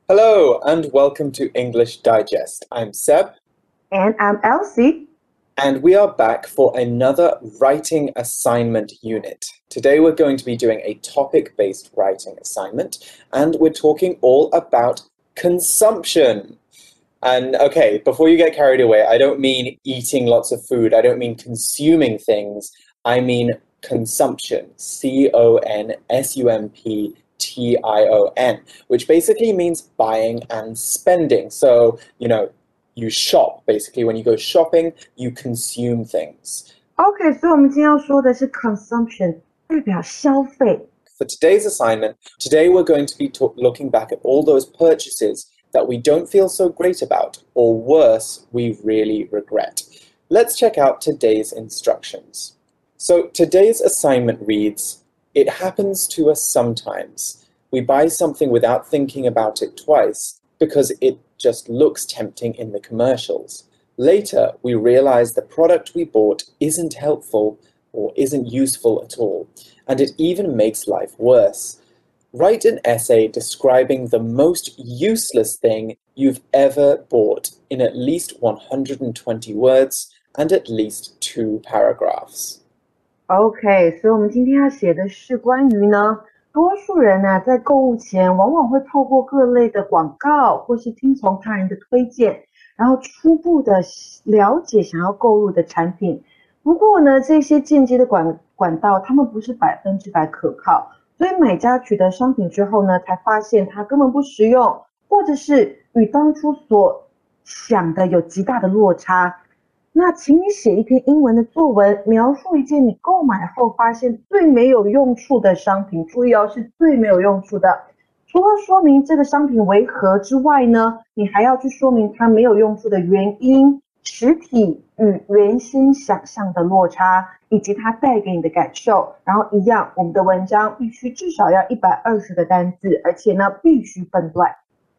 Hello and welcome to English Digest. I'm Seb. And I'm Elsie. And we are back for another writing assignment unit. Today we're going to be doing a topic-based writing assignment, and we're talking all about consumption. And okay, before you get carried away, I don't mean eating lots of food. I don't mean consuming things. I mean consumption. Consumption, which basically means buying and spending. So, you shop. Basically, when you go shopping, you consume things. OK，所以我们今天要说的是 consumption，代表消费。 For today's assignment, today we're going to be looking back at all those purchases that we don't feel so great about, or worse, we really regret. Let's check out today's instructions. So today's assignment reads, it happens to us sometimes. We buy something without thinking about it twice because it just looks tempting in the commercials. Later, we realize the product we bought isn't helpful or isn't useful at all, and it even makes life worse. Write an essay describing the most useless thing you've ever bought in at least 120 words and at least 2 paragraphs. OK，所以我们今天要写的是关于呢，多数人呢在购物前往往会透过各类的广告，或是听从他人的推荐，然后初步的了解想要购入的产品。不過呢，這些間接的管道，他們不是100%可靠，所以買家取得商品之後呢，才發現它根本不實用，或者是與當初所想的有極大的落差。那請你寫一篇英文的作文，描述一件你購買後發現最沒有用處的商品。注意哦，是最沒有用處的。除了說明這個商品為何之外呢，你還要去說明它沒有用處的原因、實體與原先想象的落差，以及它帶給你的感受。然後一樣，我們的文章必須至少要120個單字，而且呢，必須分段。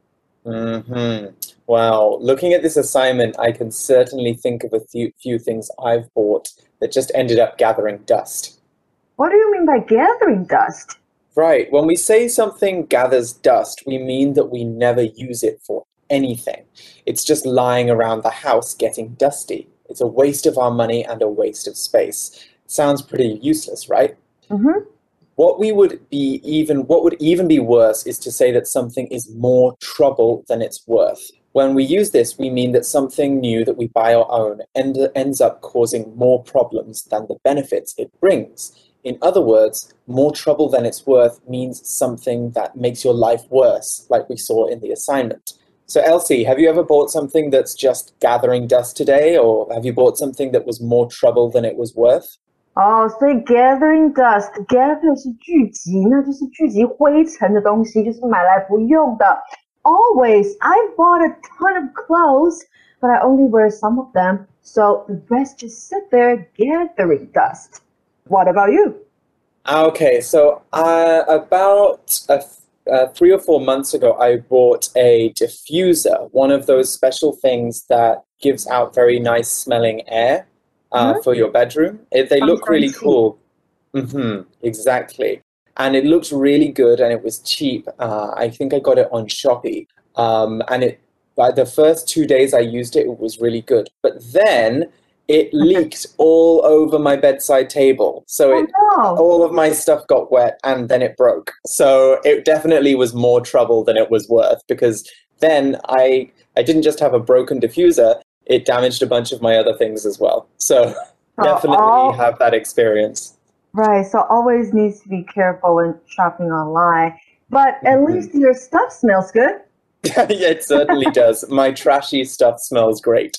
Wow, looking at this assignment, I can certainly think of a few things I've bought that just ended up gathering dust. What do you mean by gathering dust? Right, when we say something gathers dust, we mean that we never use it for anything. It's just lying around the house getting dusty. It's a waste of our money and a waste of space. Sounds pretty useless, right? Mm-hmm. What would even be worse is to say that something is more trouble than it's worth. When we use this, we mean that something new that we buy or own ends up causing more problems than the benefits it brings. In other words, more trouble than it's worth means something that makes your life worse, like we saw in the assignment. So Elsie, have you ever bought something that's just gathering dust today, or have you bought something that was more trouble than it was worth? 所以 gathering dust, gather 是聚集，那就是聚集灰塵的東西，就是買來不用的。Always, I've bought a ton of clothes, but I only wear some of them, so the rest just sit there gathering dust. What about you? Okay, so about 3 or 4 months ago, I bought a diffuser, one of those special things that gives out very nice smelling air. For your bedroom. They look really cool. Exactly. And it looks really good and it was cheap. I think I got it on Shopee. And by the first 2 days I used it, it was really good. But then it leaked all over my bedside table. So all of my stuff got wet and then it broke. So it definitely was more trouble than it was worth, because then I didn't just have a broken diffuser, it damaged a bunch of my other things as well. So definitely have that experience. Right, so always needs to be careful when shopping online. But at least your stuff smells good. Yeah, it certainly does. My trashy stuff smells great.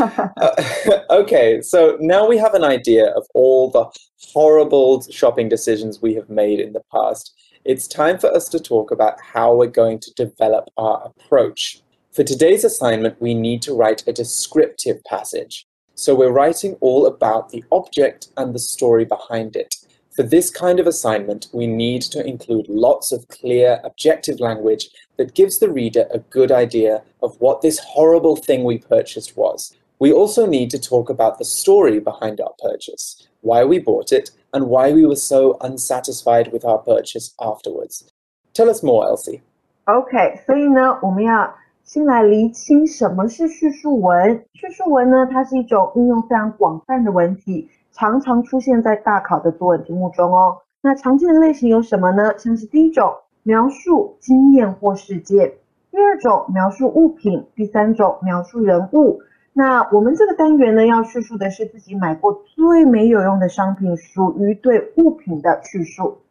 Okay, so now we have an idea of all the horrible shopping decisions we have made in the past. It's time for us to talk about how we're going to develop our approach. For today's assignment, we need to write a descriptive passage. So we're writing all about the object and the story behind it. For this kind of assignment, we need to include lots of clear, objective language that gives the reader a good idea of what this horrible thing we purchased was. We also need to talk about the story behind our purchase, why we bought it, and why we were so unsatisfied with our purchase afterwards. Tell us more, Elsie. OK， 所以呢，我們要先來釐清什麼是敘述文。敘述文呢，它是一種應用非常廣泛的文體，常常出現在大考的作文題目中哦。那常見的類型有什麼呢？像是第一種，描述經驗或事件；第二種，描述物品；第三種，描述人物。那我們這個單元呢，要敘述的是自己買過最沒有用的商品，屬於對物品的敘述。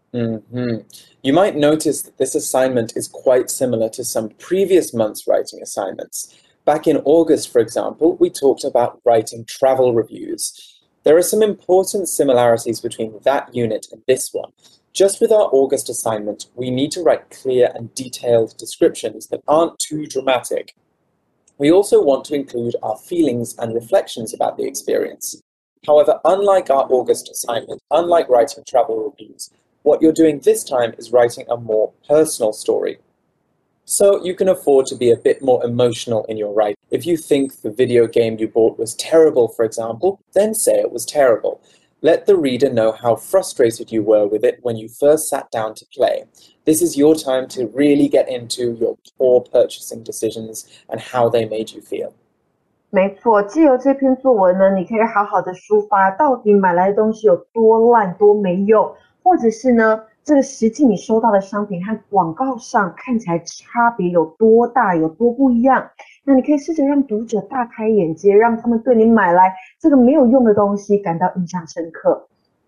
You might notice that this assignment is quite similar to some previous month's writing assignments. Back in August, for example, we talked about writing travel reviews. There are some important similarities between that unit and this one. Just with our August assignment, we need to write clear and detailed descriptions that aren't too dramatic. We also want to include our feelings and reflections about the experience. However, unlike our August assignment, unlike writing travel reviews, what you're doing this time is writing a more personal story. So you can afford to be a bit more emotional in your writing. If you think the video game you bought was terrible, for example, then say it was terrible. Let the reader know how frustrated you were with it when you first sat down to play. This is your time to really get into your poor purchasing decisions and how they made you feel. 沒錯，藉由這篇作文呢，你可以好好的抒發到底買來的東西有多爛多沒用，或者是呢，這個實際你收到的商品和廣告上看起來差別有多大，有多不一樣。那你可以試着讓讀者大開眼界，讓他們對你買來這個沒有用的東西感到印象深刻。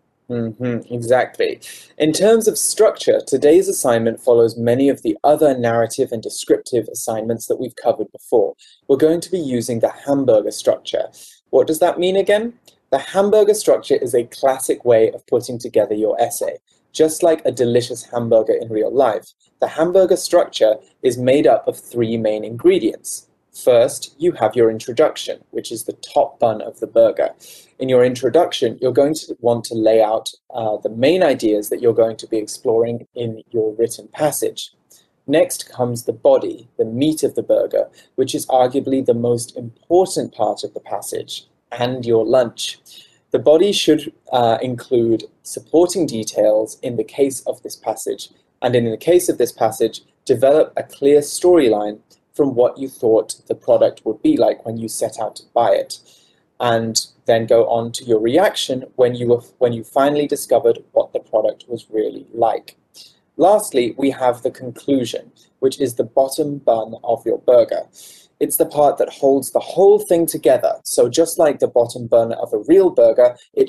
Exactly. In terms of structure, today's assignment follows many of the other narrative and descriptive assignments that we've covered before. We're going to be using the hamburger structure. What does that mean again? The hamburger structure is a classic way of putting together your essay. Just like a delicious hamburger in real life, the hamburger structure is made up of three main ingredients. First, you have your introduction, which is the top bun of the burger. In your introduction, you're going to want to lay out the main ideas that you're going to be exploring in your written passage. Next comes the body, the meat of the burger, which is arguably the most important part of the passage, and your lunch. The body should include supporting details in the case of this passage, and in the case of this passage, develop a clear storyline from what you thought the product would be like when you set out to buy it, and then go on to your reaction when you finally discovered what the product was really like. Lastly, we have the conclusion, which is the bottom bun of your burger. It's the part that holds the whole thing together. So just like the bottom bun of a real burger, it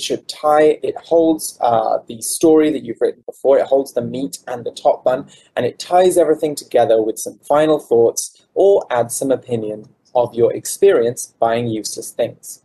holds the story that you've written before, it holds the meat and the top bun, and it ties everything together with some final thoughts or adds some opinion of your experience buying useless things.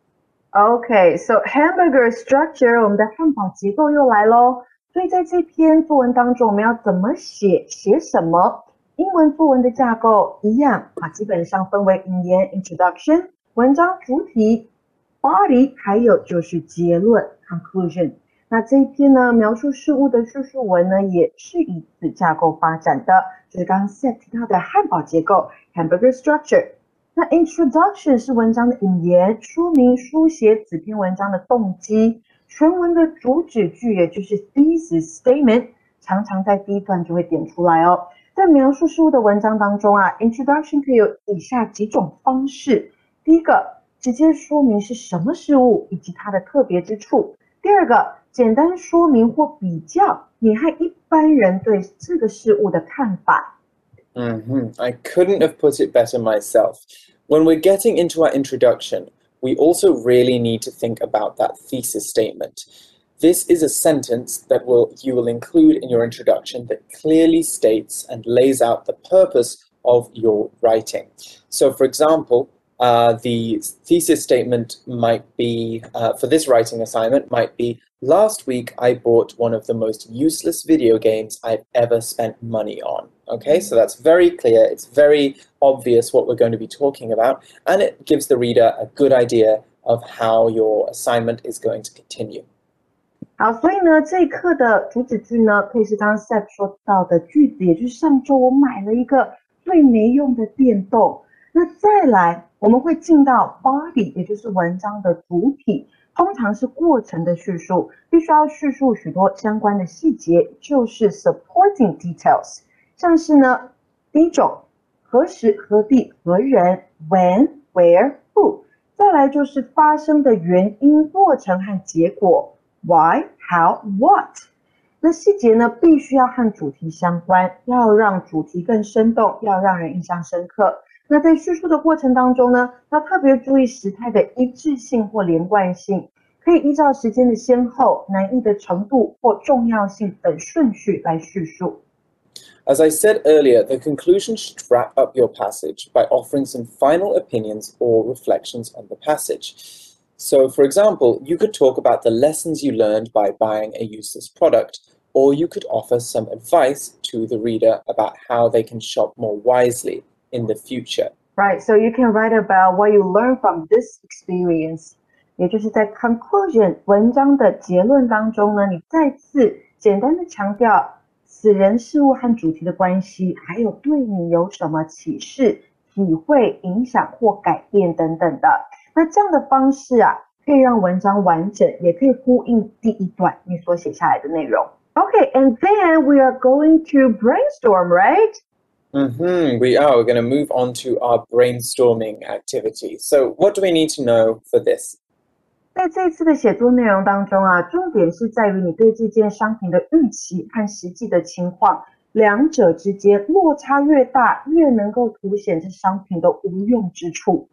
Okay, so hamburger structure, 我們的漢堡結構又來咯。所以在這篇作文當中，我們要怎麼寫什麼？英文作文的架構一樣基本上分為引言 introduction、文章主體 body， 還有就是結論 conclusion。那這一篇呢，描述事物的敘述文呢，也是以此架構發展的，就是剛剛 Seth 提到的漢堡結構 hamburger structure。那 introduction 是文章的引言，說明書寫此篇文章的動機。全文的主旨句，也就是 thesis statement， 常常在第一段就會點出來哦。在描述事物的文章當中introduction 可以有以下幾種方式。第一個，直接說明是什麼事物以及它的特別之處。第二個，簡單說明或比較你和一般人對這個事物的看法。 I couldn't have put it better myself. When we're getting into our introduction, we also really need to think about that thesis statement. This is a sentence that you will include in your introduction that clearly states and lays out the purpose of your writing. So, for example, the thesis statement might be, for this writing assignment, might be, last week I bought one of the most useless video games I've ever spent money on. Okay, so that's very clear, it's very obvious what we're going to be talking about, and it gives the reader a good idea of how your assignment is going to continue. 好，所以呢，這一課的主旨句呢，可以是剛剛 Seth 說到的句子，也就是上周我買了一個最沒用的電動。那再來，我們會進到 body， 也就是文章的主體，通常是過程的敘述，必須要敘述許多相關的細節，就是 supporting details。 像是呢，第一種，何时、何地、何人 ，when, where, who。再來就是發生的原因、過程和結果 ，why, how, what。那細節呢，必須要和主題相關，要讓主題更生動，要讓人印象深刻。那在敘述的過程當中呢，要特別注意時態的一致性或連貫性，可以依照時間的先後、難易的程度或重要性等順序來敘述。 As I said earlier, the conclusion should wrap up your passage by offering some final opinions or reflections on the passage. So, for example, you could talk about the lessons you learned by buying a useless product, or you could offer some advice to the reader about how they can shop more wisely in the future. Right, so you can write about what you learned from this experience. 也就是在 conclusion 文章的結論當中呢，你再次簡單的強調此人事物和主題的關係，還有對你有什麼啟示、體會、影響或改變等等的。那這樣的方式啊，可以讓文章完整，也可以呼應第一段你所寫下來的內容。Okay, and then we are going to brainstorm, right? We are. We're going to move on to our brainstorming activity. So what do we need to know for this? 在這一次的寫作內容當中啊，重點是在於你對這件商品的預期和實際的情況，兩者之間落差越大，越能夠凸顯這商品的無用之處。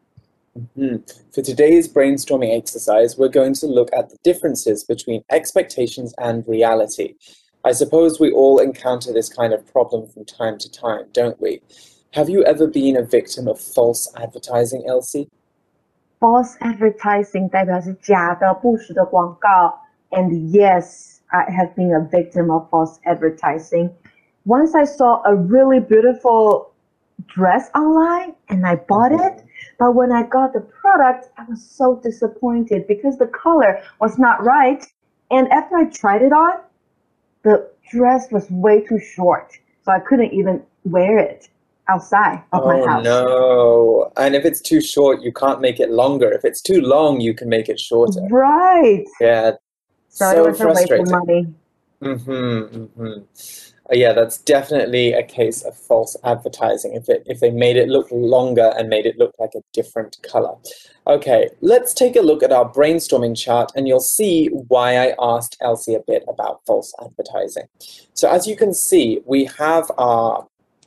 For today's brainstorming exercise, we're going to look at the differences between expectations and reality. I suppose we all encounter this kind of problem from time to time, don't we? Have you ever been a victim of false advertising, Elsie? False advertising 代表是假的、不實的廣告。And yes, I have been a victim of false advertising. Once I saw a really beautiful dress online and I bought it, but when I got the product, I was so disappointed because the color was not right. And after I tried it on, the dress was way too short, so I couldn't even wear it outside of my house. Oh, no. And if it's too short, you can't make it longer. If it's too long, you can make it shorter. Right. Yeah. So it was frustrating. A waste of money. Yeah, that's definitely a case of false advertising. If they made it look longer and made it look like a different color. Okay, let's take a look at our brainstorming chart and you'll see why I asked Elsie a bit about false advertising. So as you can see, we have our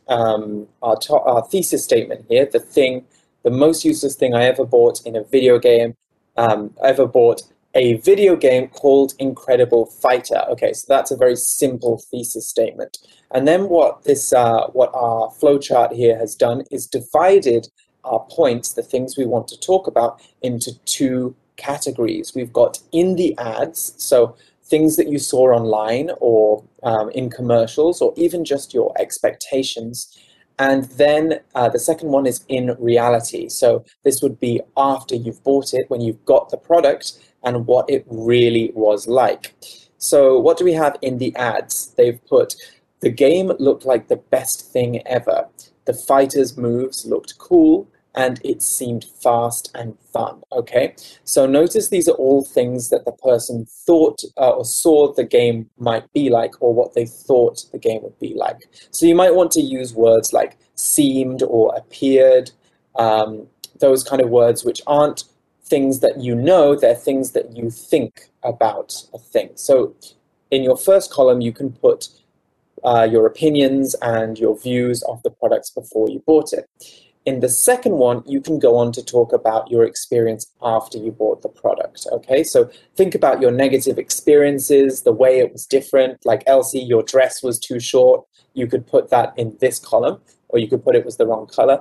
thesis statement here, the most useless thing I ever bought in a video game, ever bought a video game called Incredible Fighter. Okay, so that's a very simple thesis statement. And then what our flowchart here has done is divided our points, the things we want to talk about, into two categories. We've got in the ads, so things that you saw online or in commercials or even just your expectations. And then the second one is in reality. So this would be after you've bought it, when you've got the product and what it really was like. So what do we have in the ads? They've put, the game looked like the best thing ever. The fighters' moves looked cool and it seemed fast and fun. Okay, so notice these are all things that the person thought or saw the game might be like, or what they thought the game would be like. So you might want to use words like seemed or appeared, those kind of words which aren't things that you know, they're things that you think about a thing. So in your first column, you can put your opinions and your views of the products before you bought it. In the second one, you can go on to talk about your experience after you bought the product, okay? So think about your negative experiences, the way it was different. Like Elsie, your dress was too short. You could put that in this column, or you could put it was the wrong color.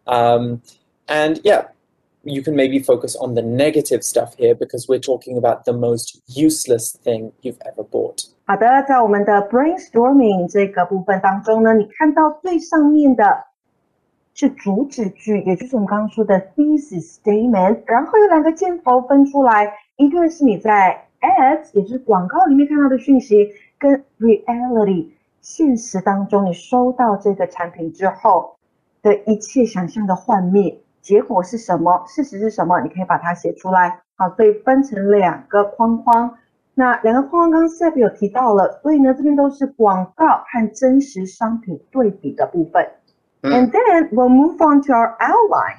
And yeah, you can maybe focus on the negative stuff here because we're talking about the most useless thing you've ever bought. 好的，在我们的 brainstorming 这個部分當中呢，你看到最上面的是主旨句，也就是我们刚剛說的 thesis statement， 然後有兩個箭頭分出來，一個是你在 ads， 也就是廣告裡面看到的訊息，跟 reality 現實當中你收到這個產品之後的一切想象的幻滅，結果是什麼，事實是什麼，你可以把它寫出來。好，所以分成兩個框框， 那两个框刚剛 Seb 有提到了，所以呢，這邊都是廣告和真實商品對比的部分。And then we'll move on to our outline.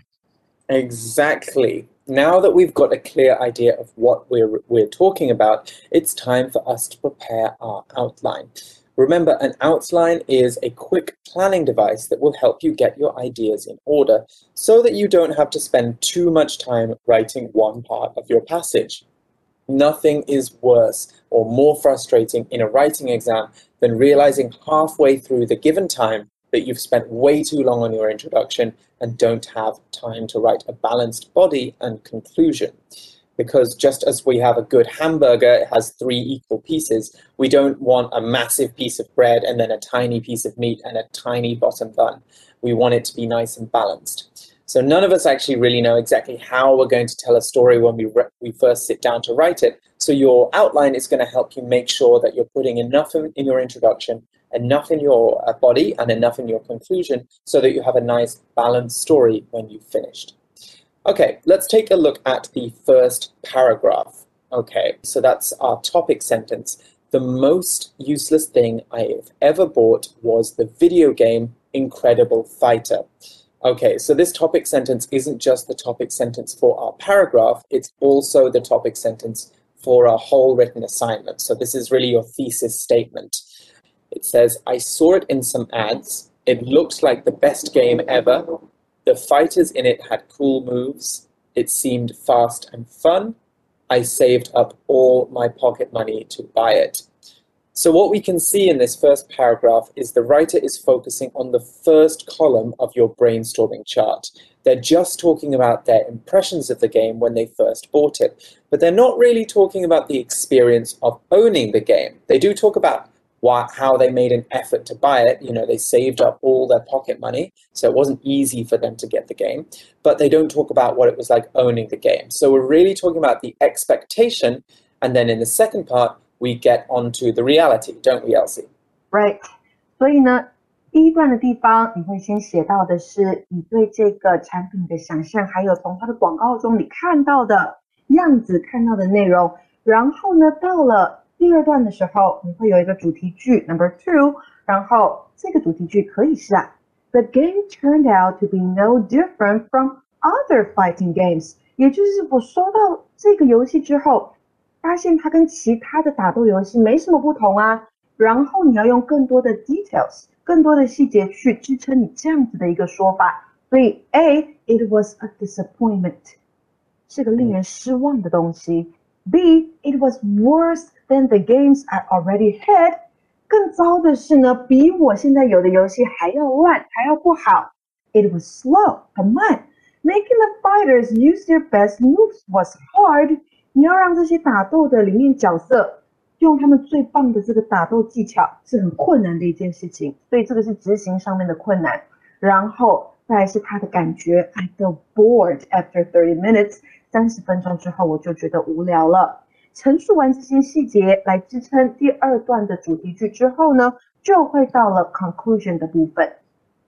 Exactly. Now that we've got a clear idea of what we're talking about, it's time for us to prepare our outline. Remember, an outline is a quick planning device that will help you get your ideas in order so that you don't have to spend too much time writing one part of your passage. Nothing is worse or more frustrating in a writing exam than realizing halfway through the given time that you've spent way too long on your introduction and don't have time to write a balanced body and conclusion. Because just as we have a good hamburger, it has 3 equal pieces, we don't want a massive piece of bread and then a tiny piece of meat and a tiny bottom bun. We want it to be nice and balanced. So none of us actually really know exactly how we're going to tell a story when we first sit down to write it. So your outline is going to help you make sure that you're putting enough in your introduction, enough in your body, and enough in your conclusion so that you have a nice balanced story when you've finished. Okay, let's take a look at the first paragraph. Okay, so that's our topic sentence. The most useless thing I've ever bought was the video game Incredible Fighter. Okay, so this topic sentence isn't just the topic sentence for our paragraph, it's also the topic sentence for our whole written assignment. So this is really your thesis statement. It says, I saw it in some ads. It looked like the best game ever. The fighters in it had cool moves. It seemed fast and fun. I saved up all my pocket money to buy it. So what we can see in this first paragraph is the writer is focusing on the first column of your brainstorming chart. They're just talking about their impressions of the game when they first bought it, but they're not really talking about the experience of owning the game. They do talk about how they made an effort to buy it. You know, they saved up all their pocket money, so it wasn't easy for them to get the game, but they don't talk about what it was like owning the game. So we're really talking about the expectation, and then in the second part, we get onto the reality, don't we, Elsie? Right. 所以呢，第一段的地方，你会先写到的是你对这个产品的想象，还有从它的廣告中你看到的樣子、看到的內容。然後呢，到了第二段的時候，你會有一個主題句 number 2，然後這個主題句可以是The game turned out to be no different from other fighting games。也就是我收到這個遊戲之後，發現它跟其他的打鬥遊戲沒什麼不同啊。然後你要用更多的 details， 更多的細節去支撐你這樣子的一個說法。所以 A, it was a disappointment， 是個令人失望的東西。B, it was worse than the games I already had， 更糟的是呢，比我現在有的遊戲還要爛，還要不好。It was slow， 很慢。Making the fighters use their best moves was hard。你要讓這些打鬥的裡面角色用他們最棒的這個打鬥技巧是很困難的一件事情，所以這個是執行上面的困難。然後再來是他的感覺 I feel bored after 30 minutes， 30分鐘之後我就覺得無聊了。陳述完這些細節來支撐第二段的主題句之後呢，就會到了 conclusion 的部分。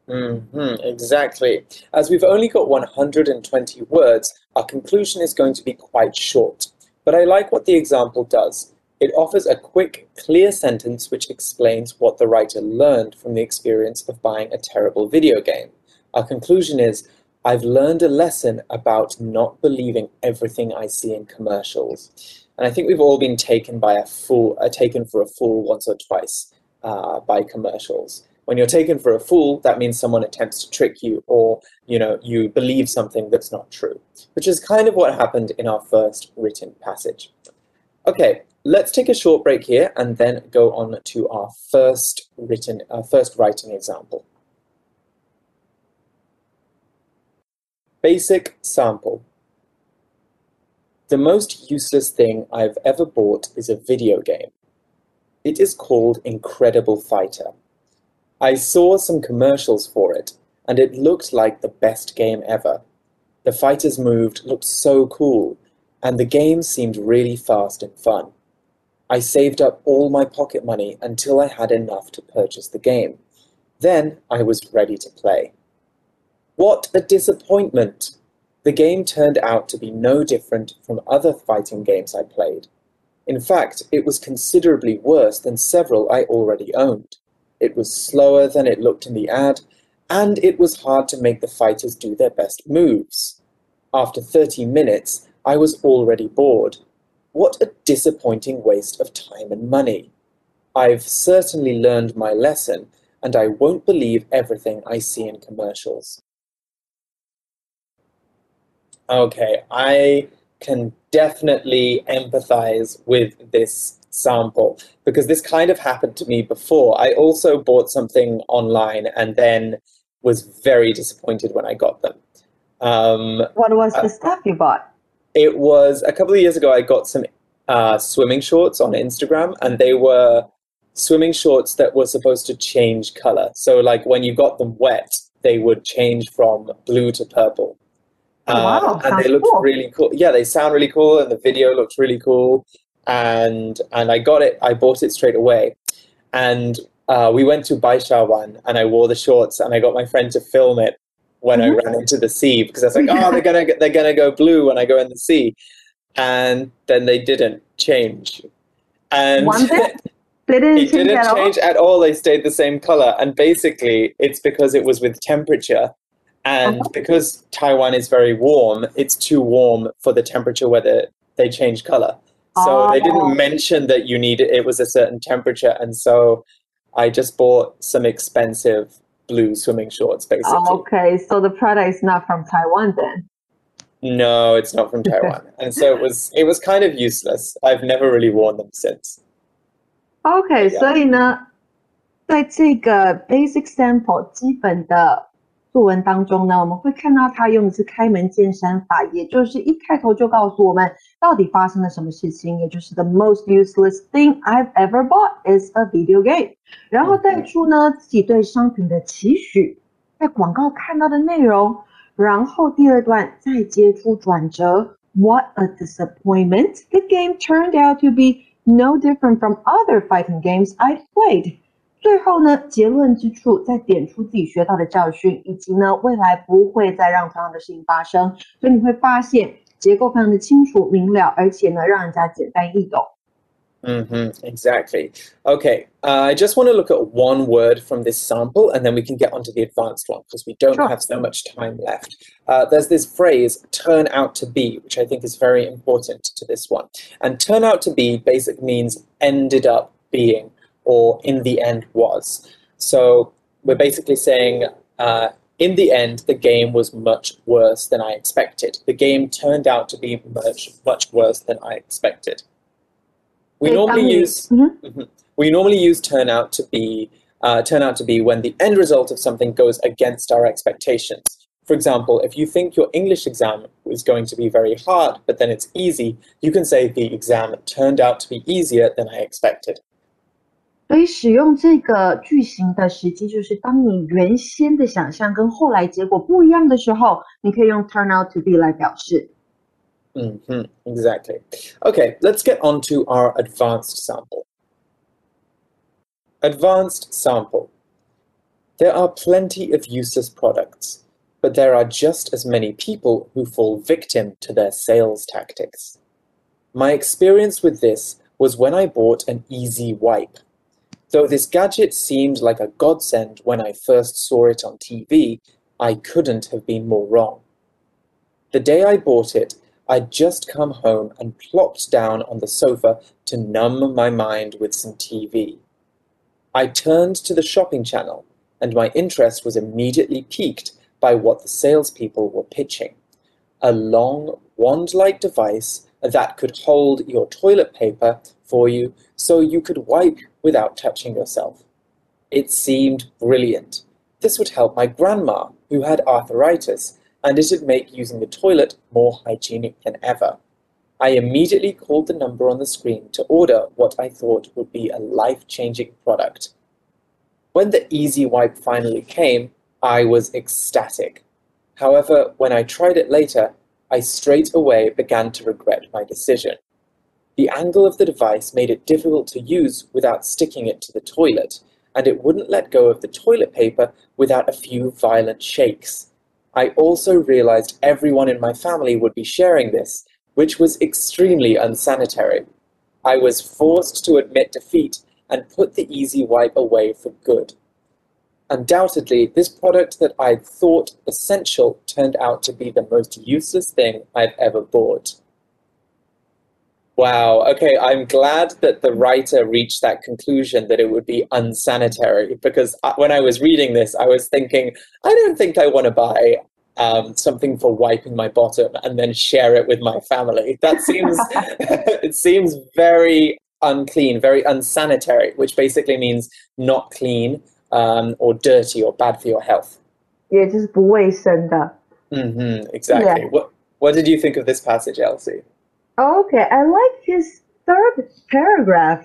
Exactly. As we've only got 120 words, our conclusion is going to be quite short. But I like what the example does. It offers a quick, clear sentence which explains what the writer learned from the experience of buying a terrible video game. Our conclusion is, I've learned a lesson about not believing everything I see in commercials. And I think we've all been taken for a fool once or twice by commercials. When you're taken for a fool, that means someone attempts to trick you, or you believe something that's not true, which is kind of what happened in our first written passage. Okay, let's take a short break here and then go on to our first writing example. Basic sample. The most useless thing I've ever bought is a video game. It is called Incredible Fighter. I saw some commercials for it, and it looked like the best game ever. The fighters looked so cool, and the game seemed really fast and fun. I saved up all my pocket money until I had enough to purchase the game. Then I was ready to play. What a disappointment! The game turned out to be no different from other fighting games I played. In fact, it was considerably worse than several I already owned. It was slower than it looked in the ad, and it was hard to make the fighters do their best moves. After 30 minutes, I was already bored. What a disappointing waste of time and money. I've certainly learned my lesson, and I won't believe everything I see in commercials. Okay, I can definitely empathize with this sample because this kind of happened to me before. I also bought something online and then was very disappointed when I got them. What was the stuff you bought? It was a couple of years ago, I got some swimming shorts on Instagram, and they were swimming shorts that were supposed to change color. So, like, when you got them wet, they would change from blue to purple. Wow, And they looked cool. really cool. Yeah, they sound really cool, and the video looked really cool. And I got it. I bought it straight away. And we went to Baishawan, and I wore the shorts, and I got my friend to film it when I ran into the sea because I was like, oh, they're gonna go blue when I go in the sea, and then they didn't change. And One bit? They it didn't change at all. They stayed the same color, and basically, it's because it was with temperature. And because Taiwan is very warm, it's too warm for the temperature where they change color. So they didn't mention that it was a certain temperature. And so I just bought some expensive blue swimming shorts, basically. Okay, so the product is not from Taiwan then? No, it's not from Taiwan. And so it was kind of useless. I've never really worn them since. Okay, 所以呢，在这个 basic sample 基本的作文当中呢，我们会看到他用的是开门见山法，也就是一开头就告诉我们到底发生了什么事情，也就是 the most useless thing I've ever bought is a video game。然後帶出呢自己對商品的期許，在廣告看到的內容，然後第二段再接出轉折 ，What a disappointment! The game turned out to be no different from other fighting games I'd played。最後呢，結論之處再點出自己學到的教訓，以及呢未來不會再讓同樣的事情發生。所以你會發現結構非常的清楚明了，而且呢讓人家簡單易懂。 Exactly. Okay, I just want to look at one word from this sample, and then we can get onto the advanced one because we don't have so much time left. There's this phrase, turn out to be, which I think is very important to this one. And turn out to be basically means ended up being, or in the end was. So we're basically saying, in the end, the game was much worse than I expected. The game turned out to be much, much worse than I expected. We normally use turn out to be when the end result of something goes against our expectations. For example, if you think your English exam is going to be very hard, but then it's easy, you can say the exam turned out to be easier than I expected. 所以使用這個句型的時機，就是當你原先的想象跟後來結果不一樣的時候，你可以用 turn out to be 來表示。 Exactly. Okay, let's get on to our advanced sample. Advanced sample. There are plenty of useless products, but there are just as many people who fall victim to their sales tactics. My experience with this was when I bought an Easy Wipe. Though this gadget seemed like a godsend when I first saw it on TV, I couldn't have been more wrong. The day I bought it, I'd just come home and plopped down on the sofa to numb my mind with some TV. I turned to the shopping channel, and my interest was immediately piqued by what the salespeople were pitching. A long, wand-like device that could hold your toilet paper for you so you could wipe without touching yourself. It seemed brilliant. This would help my grandma, who had arthritis, and it'd make using the toilet more hygienic than ever. I immediately called the number on the screen to order what I thought would be a life-changing product. When the Easy Wipe finally came, I was ecstatic. However, when I tried it later, I straight away began to regret my decision. The angle of the device made it difficult to use without sticking it to the toilet, and it wouldn't let go of the toilet paper without a few violent shakes. I also realized everyone in my family would be sharing this, which was extremely unsanitary. I was forced to admit defeat and put the easy wipe away for good. Undoubtedly, this product that I thought essential turned out to be the most useless thing I've ever bought. Wow. Okay, I'm glad that the writer reached that conclusion that it would be unsanitary because when I was reading this, I was thinking, I don't think I want to buy something for wiping my bottom and then share it with my family. That seems it seems very unclean, very unsanitary, which basically means not clean or dirty or bad for your health. 也就是不卫生的。 Exactly. Yeah. What did you think of this passage, Elsie? Okay, I like his third paragraph.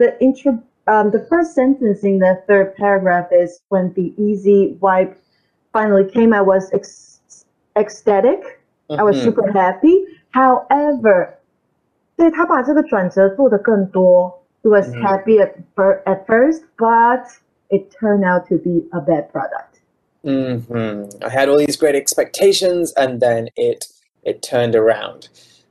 The first sentence in the third paragraph is when the easy wipe finally came, I was ecstatic. I was super happy. However, 对他把这个转折做得更多. He was happy at first, but it turned out to be a bad product. I had all these great expectations, and then it turned around.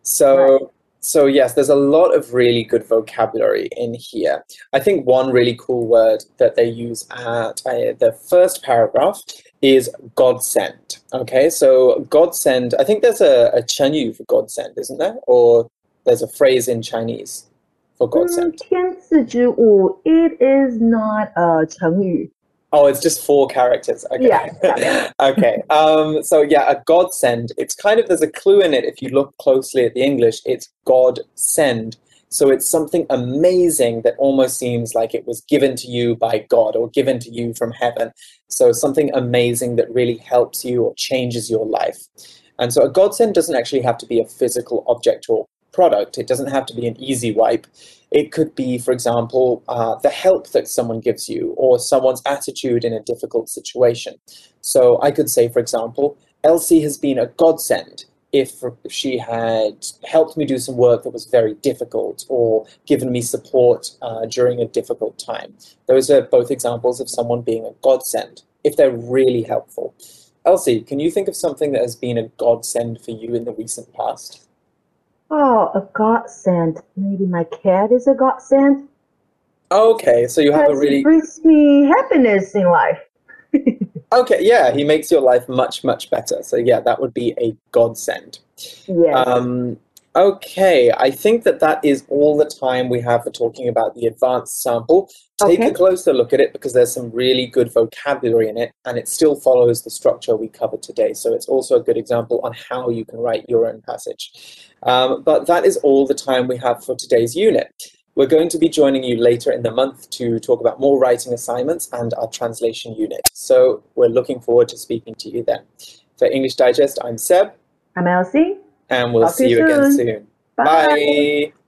So yes, there's a lot of really good vocabulary in here. I think one really cool word that they use at the first paragraph is godsend. Okay, so godsend, I think there's a 成语 for godsend, isn't there? Or there's a phrase in Chinese for godsend. 天赐之物, it is not a 成語. Oh, it's just 4 characters. Okay. Yeah. Okay. So yeah, a godsend. It's kind of, there's a clue in it. If you look closely at the English, it's God send. So it's something amazing that almost seems like it was given to you by God or given to you from heaven. So something amazing that really helps you or changes your life. And so a godsend doesn't actually have to be a physical object or product. It doesn't have to be an easy wipe. It could be, for example, the help that someone gives you or someone's attitude in a difficult situation. So I could say, for example, Elsie has been a godsend if she had helped me do some work that was very difficult or given me support during a difficult time. Those are both examples of someone being a godsend if they're really helpful. Elsie, can you think of something that has been a godsend for you in the recent past? Oh, a godsend. Maybe my cat is a godsend. Okay, so you have a really... He brings me happiness in life. Okay, yeah, he makes your life much, much better. So yeah, that would be a godsend. Yes. Okay, I think that is all the time we have for talking about the advanced sample. Take a closer look at it because there's some really good vocabulary in it and it still follows the structure we covered today. So it's also a good example on how you can write your own passage. But that is all the time we have for today's unit. We're going to be joining you later in the month to talk about more writing assignments and our translation unit. So we're looking forward to speaking to you then. For English Digest, I'm Seb. I'm Elsie. And we'll see you again soon. Bye.